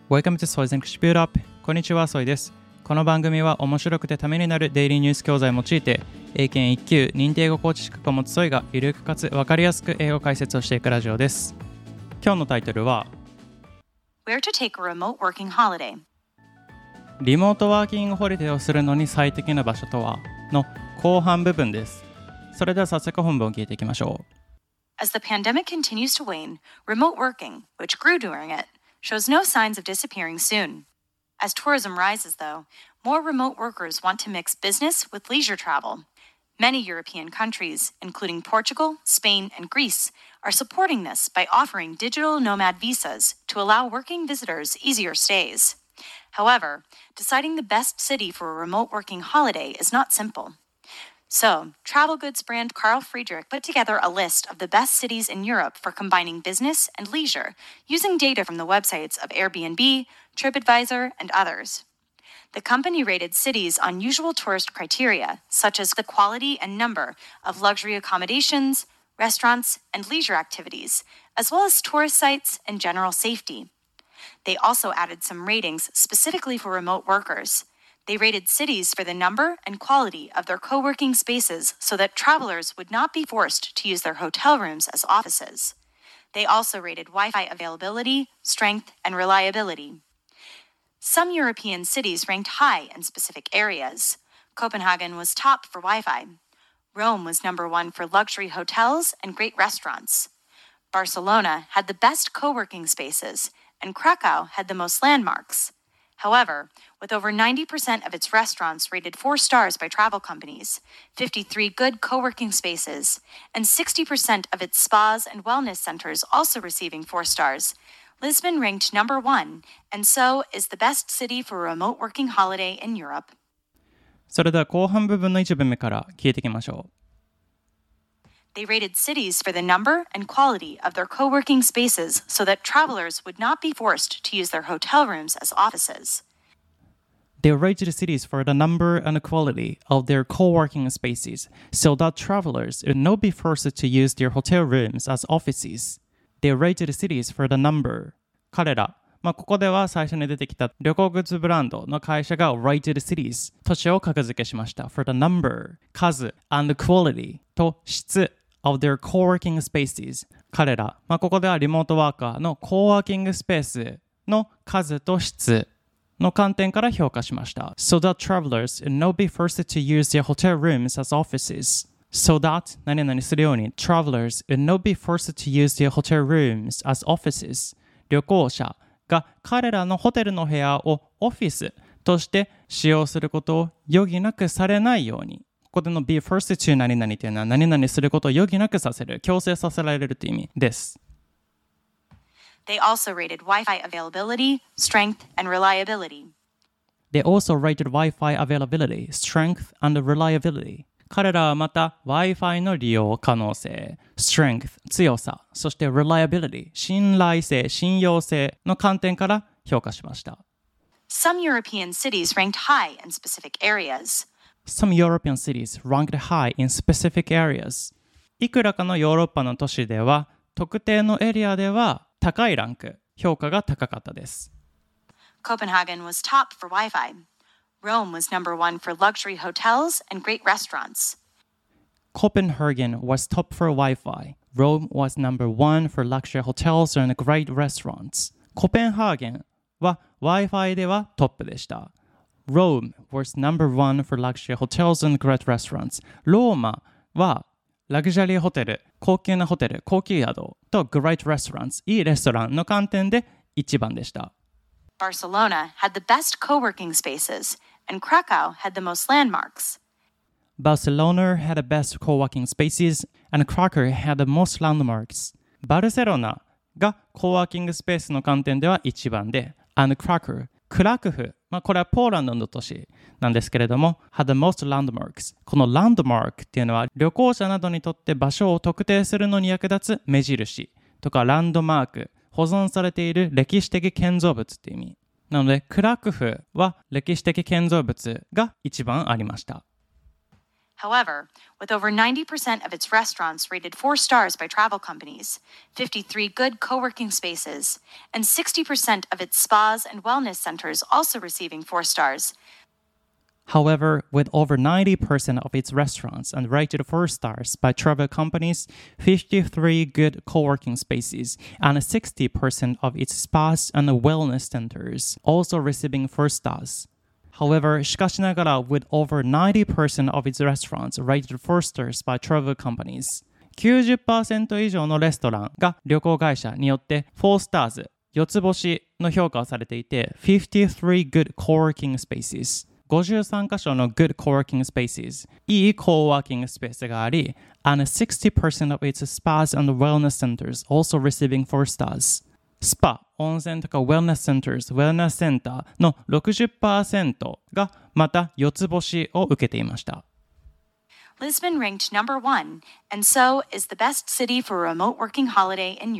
Welcome to Soy's English Build Up。こんにちは、ソイです。この番組は面白くてためになるデイリーニュース教材を用いて、英検1級認定英語コーチ資格を持つソイがゆるくかつ分かりやすく英語解説をしていくラジオです。今日のタイトルは Where to take a remote working holiday。 リモートワーキングホリデーをするのに最適な場所とはの後半部分です。それでは早速本文を聞いていきましょう。 As the pandemic continues to wane, remote working, which grew during it, shows no signs of disappearing soon. As tourism rises, though, more remote workers want to mix business with leisure travel. Many European countries, including Portugal, Spain, and Greece, are supporting this by offering digital nomad visas to allow working visitors easier stays. However, deciding the best city for a remote working holiday is not simple.So, travel goods brand Carl Friedrich put together a list of the best cities in Europe for combining business and leisure using data from the websites of Airbnb, TripAdvisor, and others. The company rated cities on usual tourist criteria, such as the quality and number of luxury accommodations, restaurants, and leisure activities, as well as tourist sites and general safety. They also added some ratings specifically for remote workers.They rated cities for the number and quality of their co-working spaces so that travelers would not be forced to use their hotel rooms as offices. They also rated Wi-Fi availability, strength, and reliability. Some European cities ranked high in specific areas. Copenhagen was top for Wi-Fi. Rome was number one for luxury hotels and great restaurants. Barcelona had the best co-working spaces, and Krakow had the most landmarks.However, with over 90% of its restaurants rated 4 stars by travel companies, 53 good co-working spaces, and 60% of its spas and wellness centers also receiving 4 stars, Lisbon ranked number 1, and so is the best city for a remote working holiday in Europe. それでは後半部分の一文目から聞いていきましょう。 They rated cities for the number and quality of their co-working spaces so that travelers would not be forced to use their hotel rooms as offices. They rated cities for the number and quality of their co-working spaces so that travelers would not be forced to use their hotel rooms as offices. They rated cities for the number. 彼ら、ここでは最初に出てきた旅行グッズブランドの会社が rated cities 都市を格付けしました。for the number 数 and quality と質of their co-working spaces 彼ら、ここではリモートワーカーのコーワーキングスペースの数と質の観点から評価しました。So that travelers would not be forced to use their hotel rooms as offices. So that 何々するように travelers would not be forced to use their hotel rooms as offices. 旅行者が彼らのホテルの部屋をオフィスとして使用することを余儀なくされないように。ここでの be forced to 何々というのは何々することを余儀なくさせる、強制させられるという意味です。 They also rated Wi-Fi availability, strength, and reliability. They also rated Wi-Fi availability, strength, and reliability. 彼らはまた Wi-Fi の利用可能性、strength、強さ、そして reliability、信頼性、信用性の観点から評価しました。 Some European cities ranked high in specific areas.Some European cities ranked high in specific areas. いくらかのヨーロッパの都市では、特定のエリアでは高いランク、評価が高かったです。 Copenhagen was top for Wi-Fi. Rome was number 1 for luxury hotels and great restaurants. Copenhagen was top for Wi-Fi. Rome was number 1 for luxury hotels and great restaurants. コペンハーゲンは Wi-Fi ではトップでした。Rome was number 1 for luxury hotels and great restaurants. ローマはラグジュアリーホテル、高級なホテル、高級宿と great restaurants、いいレストランの観点で一番でした。 Barcelona had the best co-working spaces, and Krakow had the most landmarks. Barcelona had the best co-working spaces, and Krakow had the most landmarks. バルセロナがコーワーキングスペースの観点では一番で、and Krakowクラクフ、これはポーランドの都市なんですけれども had the most landmarks このランドマークっていうのは旅行者などにとって場所を特定するのに役立つ目印とかランドマーク保存されている歴史的建造物っていう意味なのでクラクフは歴史的建造物が一番ありました However, with over 90% of its restaurants rated 4 stars by travel companies, 53 good co-working spaces, and 60% of its spas and wellness centers also receiving 4 stars. However, with over 90% of its restaurants and rated 4 stars by travel companies, 53 good co-working spaces, and 60% of its spas and wellness centers also receiving 4 stars. However, しかしながら with over 90% of its restaurants rated 4 stars by travel companies, 90% 以上のレストランが旅行会社によって4 stars、4つ星の評価をされていて、53 good co-working spaces、53カ所の good co-working spaces、いい co-working スペースがあり、and 60% of its spas and wellness centers also receiving 4 stars。スパ、温泉とか wellness centers、wellness センターの 60% がまた4つ星を受けていました。 Lisbon ranked number 1, and so is the best city for a remote working holiday in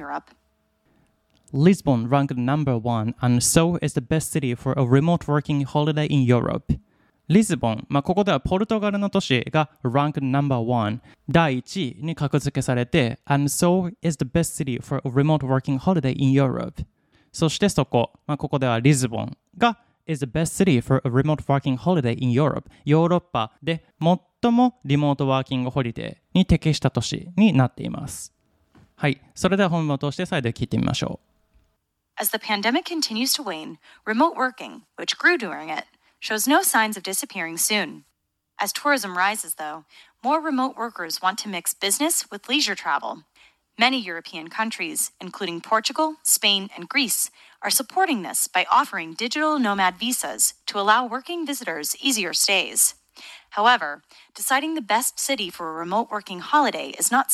Europe.Lisbon ranked number 1 and so is the best city for a remote working holiday in Europe. リスボン、ここではポルトガルの都市が ranked number 1、第1位に格付けされて and so is the best city for a remote working holiday in Europe. そしてそこ、ここではリスボンが is the best city for a remote working holiday in Europe. ヨーロッパで最もリモートワーキングホリデーに適した都市になっています。はい、それでは本文を通して再度聞いてみましょう。 As the pandemic continues to wane, remote working, which grew during it, shows no signs of disappearing soon. As tourism rises, though, more remote workers want to mix business with leisure travel. Many European countries, including Portugal, Spain, and Greece, are supporting this by offering digital nomad visas to allow working visitors easier stays. However, deciding the best city for a remote working holiday is not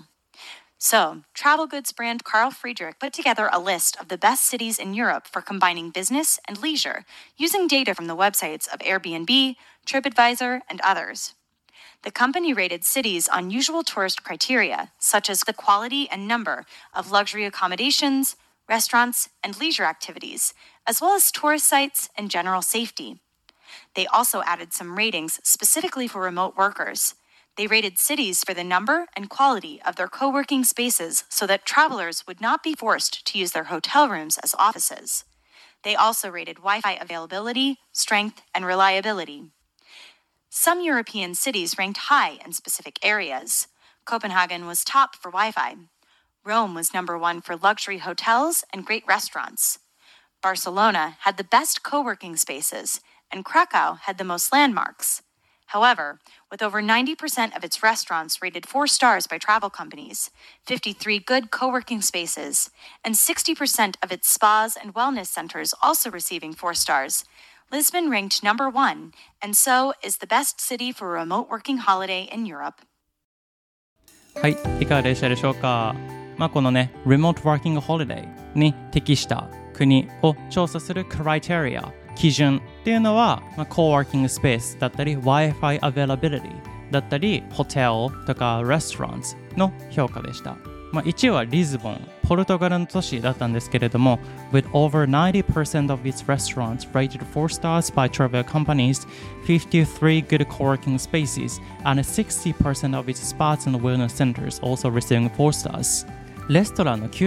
simple.So, travel goods brand Carl Friedrich put together a list of the best cities in Europe for combining business and leisure using data from the websites of Airbnb, TripAdvisor, and others. The company rated cities on usual tourist criteria, such as the quality and number of luxury accommodations, restaurants, and leisure activities, as well as tourist sites and general safety. They also added some ratings specifically for remote workers.They rated cities for the number and quality of their co-working spaces so that travelers would not be forced to use their hotel rooms as offices. They also rated Wi-Fi availability, strength, and reliability. Some European cities ranked high in specific areas. Copenhagen was top for Wi-Fi. Rome was number 1 for luxury hotels and great restaurants. Barcelona had the best co-working spaces, and Krakow had the most landmarks.However, with over 90% of its restaurants rated 4 stars by travel companies, 53 good co-working spaces, and 60% of its spas and wellness centers also receiving 4 stars, Lisbon ranked number 1, and so is the best city for a remote working holiday in Europe. はい、いかがでしたでしょうか。このね、Remote Working Holiday に適した国を調査するクライテリア、基準っていうのは、コーワーキングスペースだったり Wi-Fi availability だったりホテルとかレストランの評価でした。1位はリスボン、ポルトガルの都市だったんですけれども with over 90% of its restaurants rated 4 stars by travel companies, 53 good co-working spaces, and 60% of its spas and wellness centers also receiving 4 stars. レストランの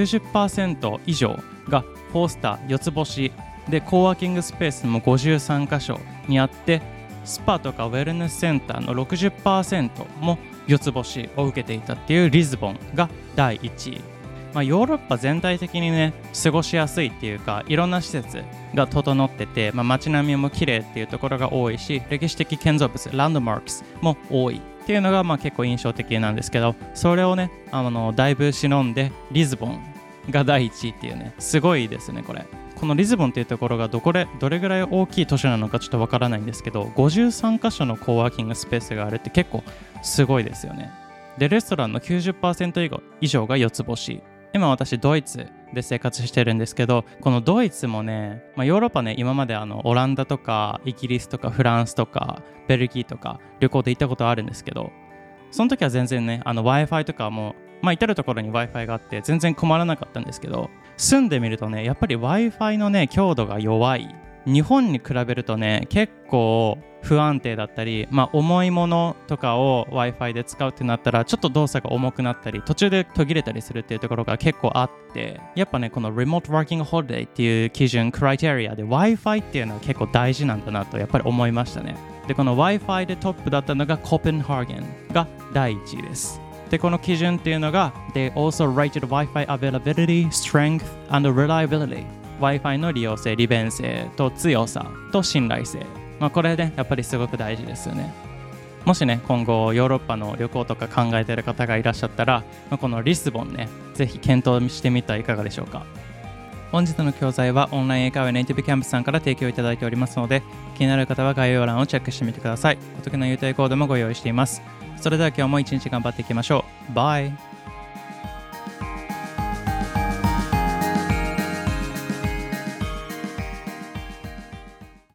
90% 以上が4スター、4つ星で、コーワーキングスペースも53カ所にあって、スパとかウェルネスセンターの 60% も4つ星を受けていたっていうリスボンが第1位。ヨーロッパ全体的にね、過ごしやすいっていうか、いろんな施設が整ってて、街並みも綺麗っていうところが多いし、歴史的建造物、ランドマークスも多いっていうのが結構印象的なんですけど、それをね、だいぶ忍んでリスボンが第1位っていうね、すごいですね、これ。このリスボンっていうところがどれぐらい大きい都市なのかちょっとわからないんですけど、53カ所のコーワーキングスペースがあるって結構すごいですよね。で、レストランの 90% 以上が4つ星。今私ドイツで生活してるんですけど、このドイツもね、ヨーロッパね、今までオランダとかイギリスとかフランスとかベルギーとか旅行で行ったことあるんですけど、その時は全然ね、Wi-Fi とかも至るところに Wi-Fi があって全然困らなかったんですけど、住んでみるとね、やっぱり Wi-Fi のね、強度が弱い日本に比べるとね結構不安定だったり、重いものとかを Wi-Fi で使うってなったらちょっと動作が重くなったり途中で途切れたりするっていうところが結構あって、やっぱねこの Remote Working Holiday っていう基準クライテリアで Wi-Fi っていうのは結構大事なんだなとやっぱり思いましたね。でこの Wi-Fi でトップだったのがコペンハーゲンが第1位です。でこの基準っていうのが They also rated Wi-Fi availability, strength and reliability。Wi-Fi の利用性、利便性と強さと信頼性、これねやっぱりすごく大事ですよね。もしね今後ヨーロッパの旅行とか考えている方がいらっしゃったら、このリスボンねぜひ検討してみてはいかがでしょうか。本日の教材はオンライン英会話ネイティブキャンプスさんから提供いただいておりますので、気になる方は概要欄をチェックしてみてください。お得な優待コードもご用意しています。それでは今日も一日頑張っていきましょう。バイ。